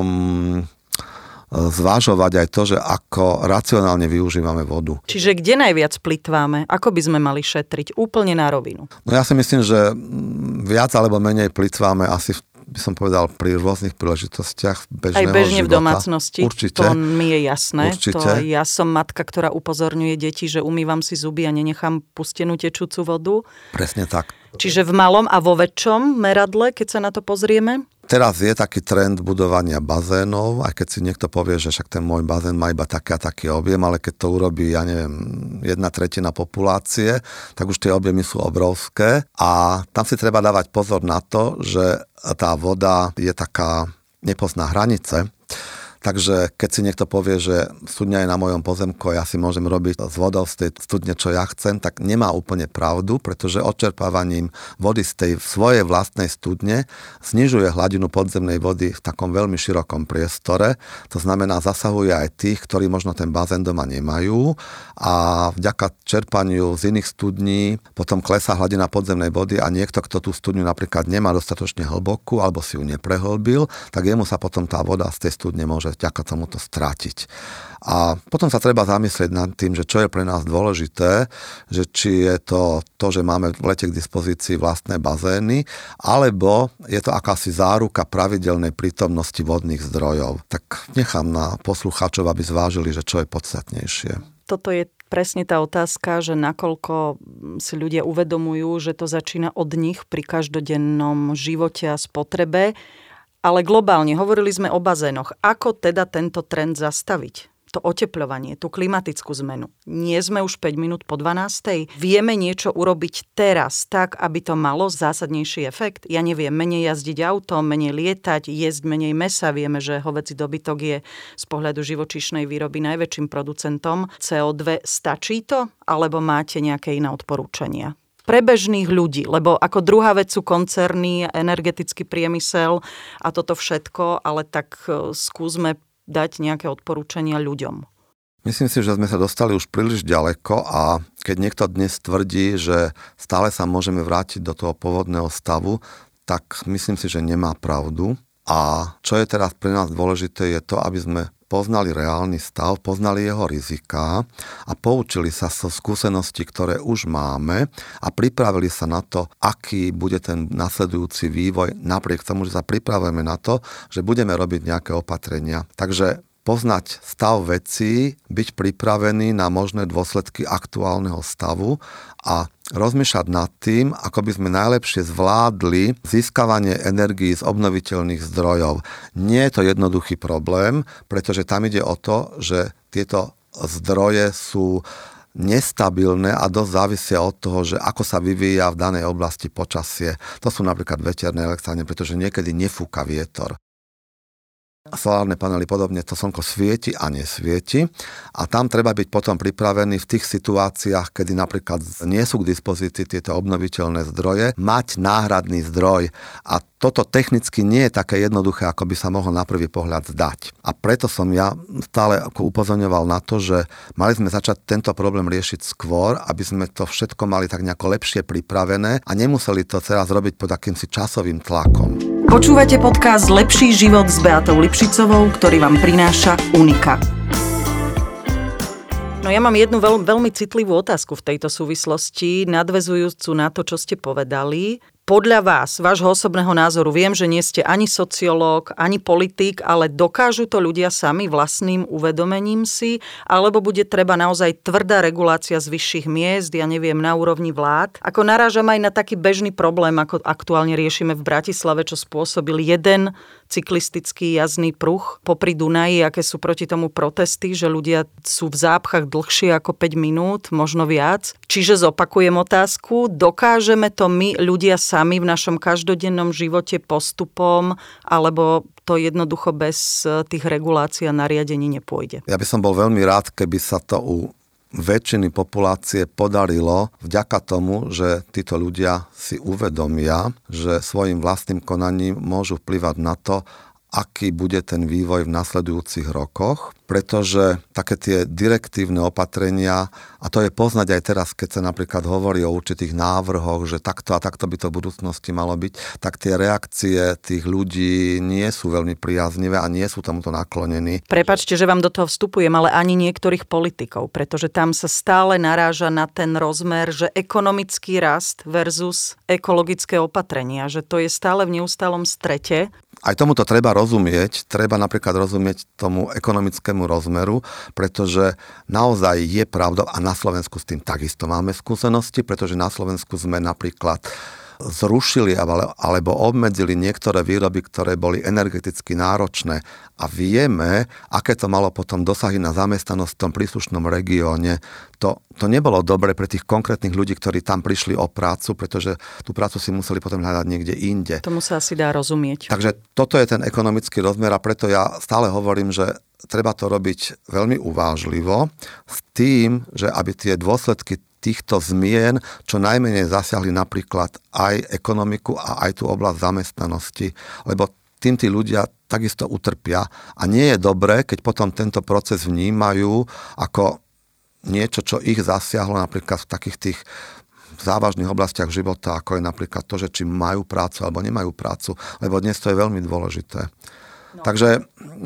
zvážovať aj to, že ako racionálne využívame vodu. Čiže kde najviac plytváme? Ako by sme mali šetriť? Úplne na rovinu. No ja si myslím, že viac alebo menej plytváme asi v by som povedal, pri rôznych príležitostiach bežného života. Aj bežne života. V domácnosti. Určite. To mi je jasné. Určite. To ja som matka, ktorá upozorňuje deti, že umývam si zuby a nenechám pustenú tečúcu vodu. Presne tak. Čiže v malom a vo väčšom meradle, keď sa na to pozrieme? Teraz je taký trend budovania bazénov, aj keď si niekto povie, že však ten môj bazén má iba taký a taký objem, ale keď to urobí, ja neviem, jedna tretina populácie, tak už tie objemy sú obrovské a tam si treba dávať pozor na to, že tá voda je taká, nepozná hranice. Takže keď si niekto povie, že studňa je na mojom pozemku a ja si môžem robiť z vodou z tej studne, čo ja chcem, tak nemá úplne pravdu, pretože odčerpávaním vody z tej svojej vlastnej studne znižuje hladinu podzemnej vody v takom veľmi širokom priestore. To znamená, zasahuje aj tých, ktorí možno ten bazén doma nemajú a vďaka čerpaniu z iných studní potom klesá hladina podzemnej vody a niekto, kto tú studňu napríklad nemá dostatočne hlbokú alebo si ju neprehlbil, tak jemu sa potom tá voda z tej studne môže vďaka tomuto strátiť. A potom sa treba zamyslieť nad tým, že čo je pre nás dôležité, že či je to to, že máme v lete k dispozícii vlastné bazény, alebo je to akási záruka pravidelnej prítomnosti vodných zdrojov. Tak nechám na poslucháčov, aby zvážili, že čo je podstatnejšie. Toto je presne tá otázka, že nakoľko si ľudia uvedomujú, že to začína od nich pri každodennom živote a spotrebe. Ale globálne, hovorili sme o bazénoch. Ako teda tento trend zastaviť? To otepľovanie, tú klimatickú zmenu. Nie sme už päť minút po dvanástej. Vieme niečo urobiť teraz tak, aby to malo zásadnejší efekt? Ja neviem, menej jazdiť autom, menej lietať, jesť menej mäsa. Vieme, že hovädzí dobytok je z pohľadu živočíšnej výroby najväčším producentom cé ó dva. Stačí to? Alebo máte nejaké iné odporúčania? Pre bežných ľudí, lebo ako druhá vec sú koncerny, energetický priemysel a toto všetko, ale tak skúsme dať nejaké odporúčania ľuďom. Myslím si, že sme sa dostali už príliš ďaleko a keď niekto dnes tvrdí, že stále sa môžeme vrátiť do toho pôvodného stavu, tak myslím si, že nemá pravdu. A čo je teraz pre nás dôležité, je to, aby sme poznali reálny stav, poznali jeho riziká a poučili sa zo skúseností, ktoré už máme a pripravili sa na to, aký bude ten nasledujúci vývoj, napriek tomu, že sa pripravujeme na to, že budeme robiť nejaké opatrenia. Takže poznať stav vecí, byť pripravený na možné dôsledky aktuálneho stavu a rozmýšľať nad tým, ako by sme najlepšie zvládli získavanie energií z obnoviteľných zdrojov. Nie je to jednoduchý problém, pretože tam ide o to, že tieto zdroje sú nestabilné a dosť závisia od toho, že ako sa vyvíja v danej oblasti počasie. To sú napríklad veterné elektrárne, pretože niekedy nefúka vietor. Solárne panely podobne, to slnko svieti a nesvieti a tam treba byť potom pripravený v tých situáciách, kedy napríklad nie sú k dispozícii tieto obnoviteľné zdroje, mať náhradný zdroj a toto technicky nie je také jednoduché, ako by sa mohlo na prvý pohľad zdať. A preto som ja stále ako upozorňoval na to, že mali sme začať tento problém riešiť skôr, aby sme to všetko mali tak nejako lepšie pripravené a nemuseli to teraz robiť pod akýmsi časovým tlakom. Počúvate podcast Lepší život s Beatou Lipšicovou, ktorý vám prináša Unika. No ja mám jednu veľ, veľmi citlivú otázku v tejto súvislosti, nadväzujúcu na to, čo ste povedali. Podľa vás, vášho osobného názoru, viem, že nie ste ani sociológ, ani politik, ale dokážu to ľudia sami vlastným uvedomením si, alebo bude treba naozaj tvrdá regulácia z vyšších miest, ja neviem, na úrovni vlád? Ako narážam aj na taký bežný problém, ako aktuálne riešime v Bratislave, čo spôsobil jeden cyklistický jazdný pruh popri Dunaji, aké sú proti tomu protesty, že ľudia sú v zápchách dlhšie ako päť minút, možno viac. Čiže zopakujem otázku, dokážeme to my ľudia sami v našom každodennom živote postupom, alebo to jednoducho bez tých regulácií a nariadení nepôjde? Ja by som bol veľmi rád, keby sa to u väčšiny populácie podarilo vďaka tomu, že títo ľudia si uvedomia, že svojim vlastným konaním môžu vplyvať na to, aký bude ten vývoj v nasledujúcich rokoch, pretože také tie direktívne opatrenia, a to je poznať aj teraz, keď sa napríklad hovorí o určitých návrhoch, že takto a takto by to v budúcnosti malo byť, tak tie reakcie tých ľudí nie sú veľmi priaznivé a nie sú tomuto naklonení. Prepáčte, že vám do toho vstupujem, ale ani niektorých politikov, pretože tam sa stále naráža na ten rozmer, že ekonomický rast versus ekologické opatrenia, že to je stále v neustálom strete. Aj tomuto treba rozumieť, treba napríklad rozumieť tomu ekonomickému rozmeru, pretože naozaj je pravda a na Slovensku s tým takisto máme skúsenosti, pretože na Slovensku sme napríklad zrušili alebo obmedzili niektoré výroby, ktoré boli energeticky náročné a vieme, aké to malo potom dosahy na zamestnanosť v tom príslušnom regióne, to, to nebolo dobre pre tých konkrétnych ľudí, ktorí tam prišli o prácu, pretože tú prácu si museli potom hľadať niekde inde. Tomu sa asi dá rozumieť. Takže toto je ten ekonomický rozmer a preto ja stále hovorím, že treba to robiť veľmi uvážlivo s tým, že aby tie dôsledky týchto zmien čo najmenej zasiahli napríklad aj ekonomiku a aj tú oblasť zamestnanosti, lebo tým tí ľudia takisto utrpia a nie je dobré, keď potom tento proces vnímajú ako niečo, čo ich zasiahlo napríklad v takých tých závažných oblastiach života, ako je napríklad to, že či majú prácu alebo nemajú prácu, lebo dnes to je veľmi dôležité. No. Takže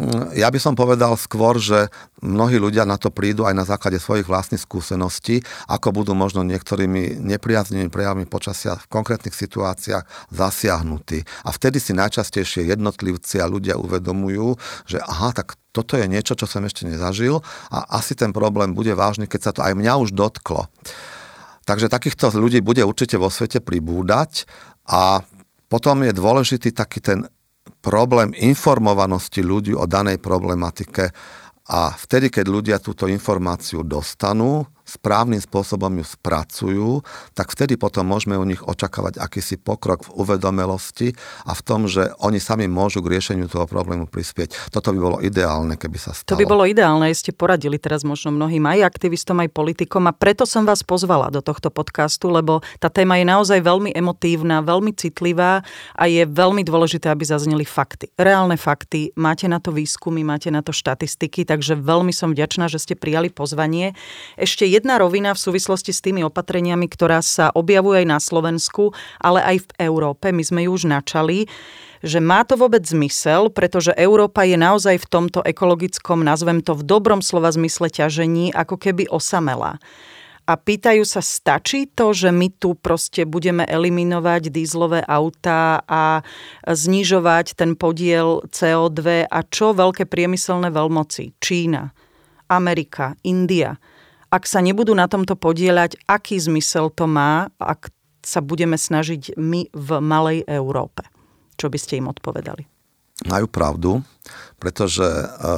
ja by som povedal skôr, že mnohí ľudia na to prídu aj na základe svojich vlastných skúseností, ako budú možno niektorými nepriaznivými prejavmi počasia v konkrétnych situáciách zasiahnutí. A vtedy si najčastejšie jednotlivci a ľudia uvedomujú, že aha, tak toto je niečo, čo som ešte nezažil a asi ten problém bude vážny, keď sa to aj mňa už dotklo. Takže takýchto ľudí bude určite vo svete pribúdať a potom je dôležitý taký ten problém informovanosti ľudí o danej problematike a vtedy, keď ľudia túto informáciu dostanú, správnym spôsobom ju spracujú, tak vtedy potom môžeme u nich očakávať akýsi pokrok v uvedomelosti a v tom, že oni sami môžu k riešeniu toho problému prispieť. Toto by bolo ideálne, keby sa stalo. To by bolo ideálne, ste poradili teraz možno mnohým aj aktivistom, aj politikom a preto som vás pozvala do tohto podcastu, lebo tá téma je naozaj veľmi emotívna, veľmi citlivá a je veľmi dôležité, aby zazneli fakty. Reálne fakty, máte na to výskumy, máte na to štatistiky, takže veľmi som vďačná, že ste prijali pozvanie. Ešte jedna rovina v súvislosti s tými opatreniami, ktorá sa objavuje aj na Slovensku, ale aj v Európe. My sme ju už načali, že má to vôbec zmysel, pretože Európa je naozaj v tomto ekologickom, nazvem to v dobrom slova zmysle ťažení, ako keby osamelá. A pýtajú sa, stačí to, že my tu proste budeme eliminovať dízlové autá a znižovať ten podiel cé ó dva a čo veľké priemyselné veľmoci? Čína, Amerika, India. Ak sa nebudú na tomto podieľať, aký zmysel to má, ak sa budeme snažiť my v malej Európe? Čo by ste im odpovedali? Majú pravdu, pretože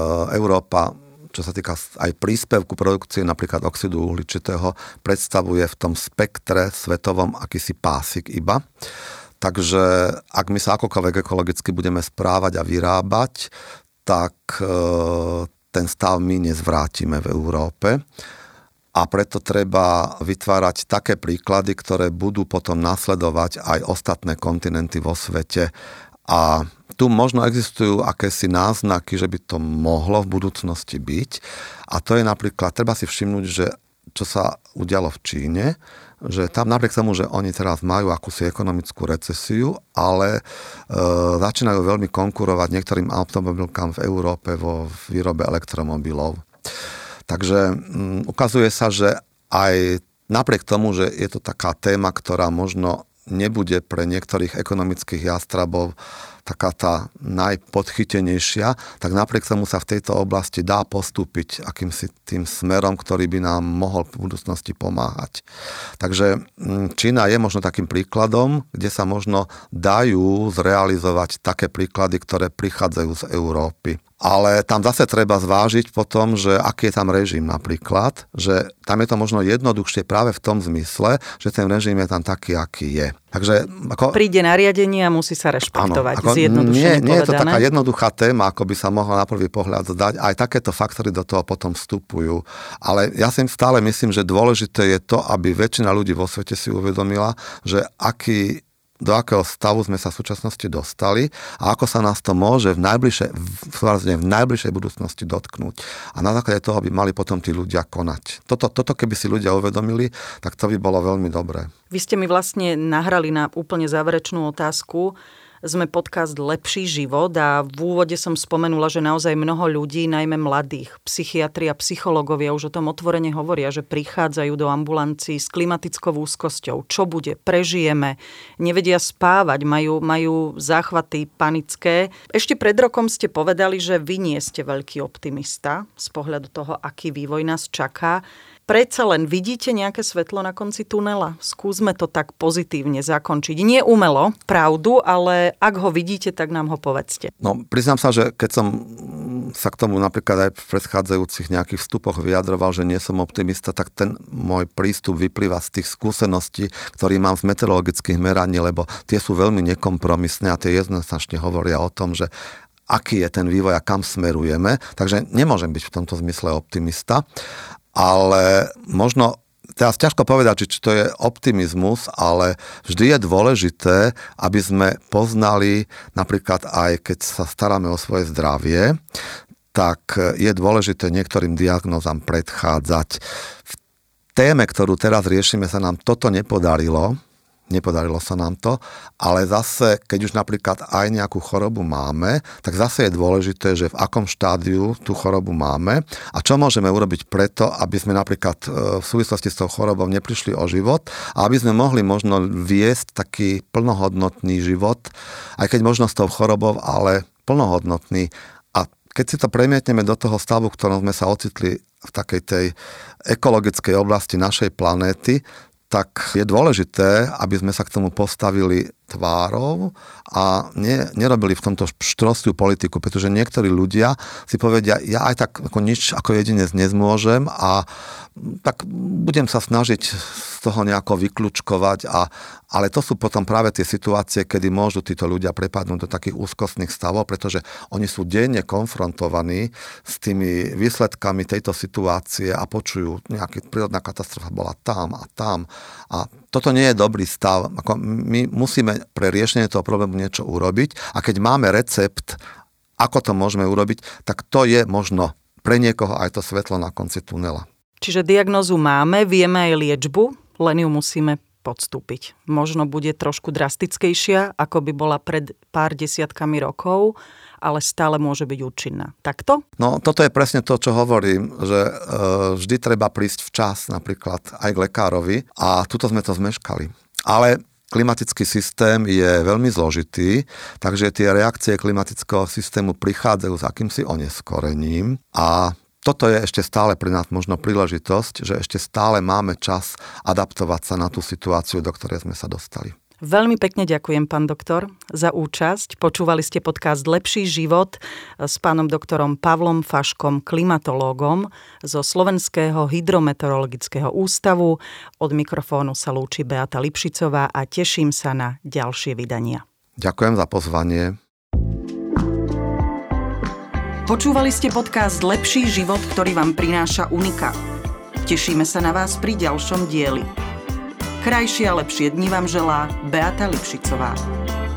Európa, čo sa týka aj príspevku produkcie napríklad oxidu uhličitého, predstavuje v tom spektre svetovom akýsi pásik iba. Takže ak my sa akokoľvek ekologicky budeme správať a vyrábať, tak ten stav my nezvrátime v Európe. A preto treba vytvárať také príklady, ktoré budú potom nasledovať aj ostatné kontinenty vo svete. A tu možno existujú akési náznaky, že by to mohlo v budúcnosti byť. A to je napríklad, treba si všimnúť, že čo sa udialo v Číne, že tam napriek tomu, že oni teraz majú akúsi ekonomickú recesiu, ale e, začínajú veľmi konkurovať niektorým automobilkám v Európe vo výrobe elektromobilov. Takže um, ukazuje sa, že aj napriek tomu, že je to taká téma, ktorá možno nebude pre niektorých ekonomických jastrabov taká tá najpodchytenejšia, tak napriek tomu sa v tejto oblasti dá postúpiť akýmsi tým smerom, ktorý by nám mohol v budúcnosti pomáhať. Takže Čína je možno takým príkladom, kde sa možno dajú zrealizovať také príklady, ktoré prichádzajú z Európy. Ale tam zase treba zvážiť potom, že aký je tam režim napríklad, že tam je to možno jednoduchšie práve v tom zmysle, že ten režim je tam taký, aký je. Takže ako, príde nariadenie a musí sa rešpektovať. Áno, nie, nie je to taká jednoduchá téma, ako by sa mohla na prvý pohľad zdať. Aj takéto faktory do toho potom vstupujú. Ale ja si stále myslím, že dôležité je to, aby väčšina ľudí vo svete si uvedomila, že aký do akého stavu sme sa v súčasnosti dostali a ako sa nás to môže v najbližšej, v najbližšej budúcnosti dotknúť. A na základe toho by mali potom tí ľudia konať. Toto, toto keby si ľudia uvedomili, tak to by bolo veľmi dobré. Vy ste mi vlastne nahrali na úplne záverečnú otázku. Sme podcast Lepší život a v úvode som spomenula, že naozaj mnoho ľudí, najmä mladých, psychiatri a psychológovia už o tom otvorene hovoria, že prichádzajú do ambulancií s klimatickou úzkosťou. Čo bude? Prežijeme. Nevedia spávať, majú, majú záchvaty panické. Ešte pred rokom ste povedali, že vy nie ste veľký optimista z pohľadu toho, aký vývoj nás čaká. predsa len vidíte nejaké svetlo na konci tunela? Skúsme to tak pozitívne zakončiť. Nie umelo, pravdu, ale ak ho vidíte, tak nám ho povedzte. No, priznám sa, že keď som sa k tomu napríklad aj v predchádzajúcich nejakých vstupoch vyjadroval, že nie som optimista, tak ten môj prístup vyplýva z tých skúseností, ktorý mám z meteorologických meraní, lebo tie sú veľmi nekompromisné a tie jednoznačne hovoria o tom, že aký je ten vývoj a kam smerujeme. Takže nemôžem byť v tomto zmysle optimista, ale možno teraz ťažko povedať, či to je optimizmus, ale vždy je dôležité, aby sme poznali, napríklad aj keď sa staráme o svoje zdravie, tak je dôležité niektorým diagnózam predchádzať. V téme, ktorú teraz riešime, sa nám toto nepodarilo. Nepodarilo sa nám to, ale zase, keď už napríklad aj nejakú chorobu máme, tak zase je dôležité, že v akom štádiu tú chorobu máme a čo môžeme urobiť preto, aby sme napríklad v súvislosti s tou chorobou neprišli o život a aby sme mohli možno viesť taký plnohodnotný život, aj keď možno s tou chorobou, ale plnohodnotný. A keď si to premietneme do toho stavu, v ktorom sme sa ocitli v takej tej ekologickej oblasti našej planéty, tak je dôležité, aby sme sa k tomu postavili tvárou a ne, nerobili v tomto štrostiu politiku, pretože niektorí ľudia si povedia, ja aj tak ako nič ako jedinec nezmôžem a tak budem sa snažiť z toho nejako vyklúčkovať, a, ale to sú potom práve tie situácie, kedy môžu títo ľudia prepadnúť do takých úzkostných stavov, pretože oni sú denne konfrontovaní s tými výsledkami tejto situácie a počujú, nejaká prírodná katastrofa bola tam a tam a toto nie je dobrý stav. Ako my musíme pre riešenie toho problému niečo urobiť a keď máme recept, ako to môžeme urobiť, tak to je možno pre niekoho aj to svetlo na konci tunela. Čiže diagnózu máme, vieme aj liečbu, len ju musíme podstúpiť. Možno bude trošku drastickejšia, ako by bola pred pár desiatkami rokov, ale stále môže byť účinná. Takto? No, toto je presne to, čo hovorím, že e, vždy treba prísť včas napríklad aj k lekárovi a tuto sme to zmeškali. Ale klimatický systém je veľmi zložitý, takže tie reakcie klimatického systému prichádzajú s akýmsi oneskorením a toto je ešte stále pre nás možno príležitosť, že ešte stále máme čas adaptovať sa na tú situáciu, do ktorej sme sa dostali. Veľmi pekne ďakujem, pán doktor, za účasť. Počúvali ste podcast Lepší život s pánom doktorom Pavlom Faškom, klimatológom zo Slovenského hydrometeorologického ústavu. Od mikrofónu sa lúči Beata Lipšicová a teším sa na ďalšie vydania. Ďakujem za pozvanie. Počúvali ste podcast Lepší život, ktorý vám prináša Unika. Tešíme sa na vás pri ďalšom dieli. Krajšie a lepšie dni vám želá Beata Lipšicová.